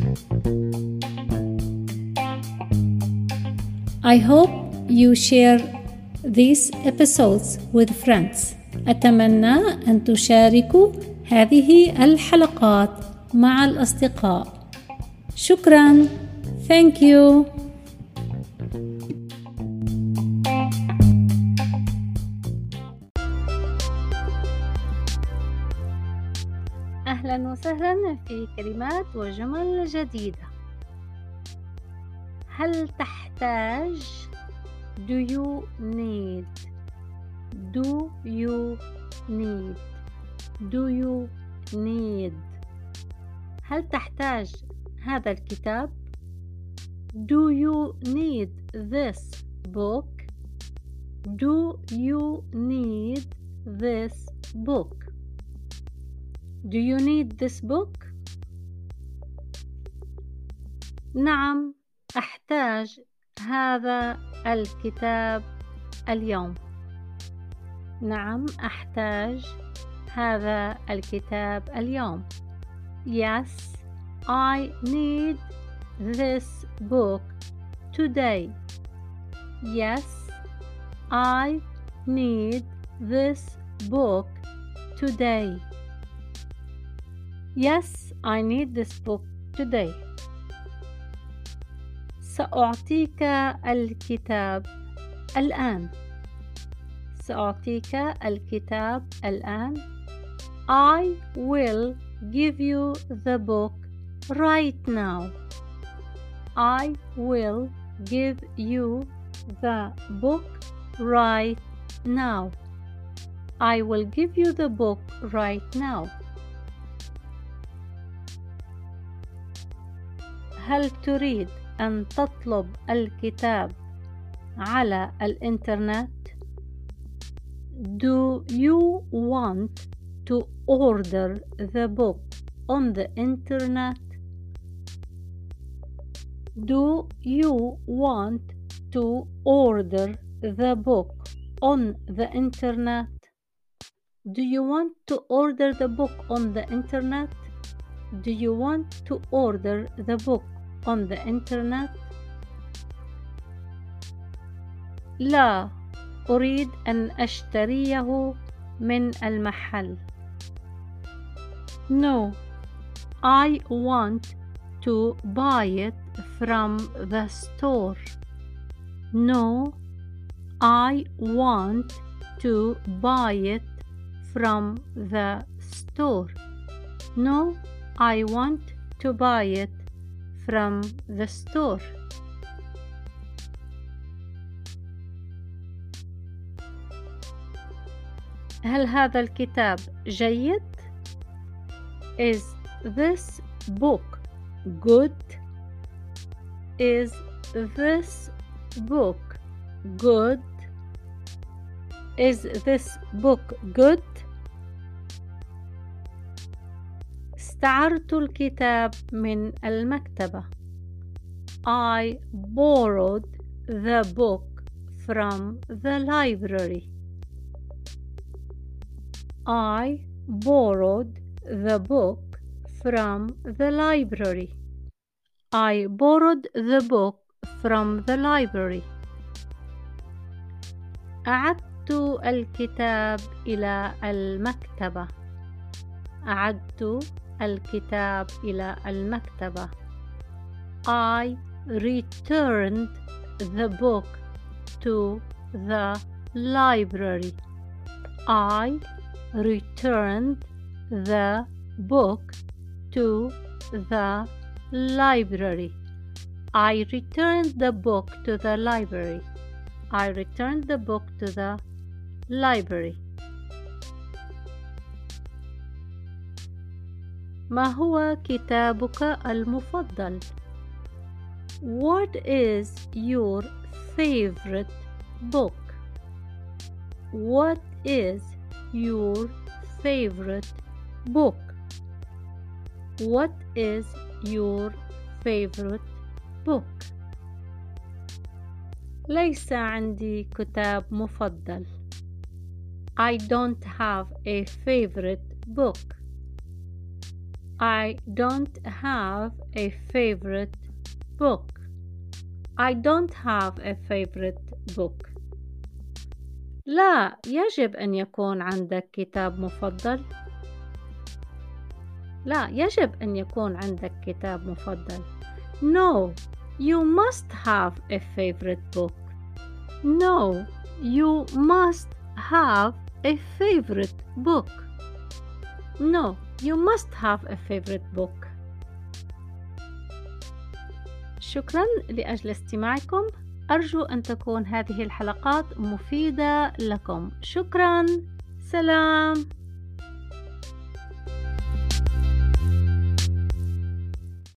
I hope you share these episodes with friends. أتمنى أن تشاركوا هذه الحلقات مع الأصدقاء. شكراً. Thank you. أهلاً وسهلاً في كلمات وجمل جديدة. هل تحتاج؟ Do you need? Do you need? Do you need? هل تحتاج هذا الكتاب؟ Do you need this book? Do you need this book? Do you need this book? نعم، أحتاج هذا الكتاب اليوم. نعم، أحتاج هذا الكتاب اليوم. Yes, I need this book today. Yes, I need this book today. Yes, I need this book today. سأعطيك الكتاب الآن. سأعطيك الكتاب الآن. I will give you the book right now. I will give you the book right now. I will give you the book right now. هل تريد أن تطلب الكتاب على الإنترنت؟ Do you want to order the book on the internet? Do you want to order the book on the internet? Do you want to order the book on the internet? Do you want to order the book on the internet? لا، أريد أن أشتريه من المحل. No, I want to buy it from the store. No, I want to buy it from the store. No, I want to buy it from the store. هل هذا الكتاب جيد؟ Is this book good? Is this book good? Is this book good? استعرت الكتاب من المكتبة. I borrowed the book from the library. I borrowed the book from the library. I borrowed the book from the library. أعدت الكتاب إلى المكتبة. أعدت الكتاب إلى المكتبة. I returned the book to the library. I returned the book to the library. I returned the book to the library. I returned the book to the library. ما هو كتابك المفضل؟ What is your favorite book? What is your favorite book? What is your favorite book? ليس عندي كتاب مفضل. I don't have a favorite book. I don't have a favorite book. I don't have a favorite book. لا يجب أن يكون عندك كتاب مفضل. لا يجب أن يكون عندك كتاب مفضل. No, you must have a favorite book. No, you must have a favorite book. No, you must have a favorite book. شكرا لأجل استماعكم. أرجو أن تكون هذه الحلقات مفيدة لكم. شكرا. سلام.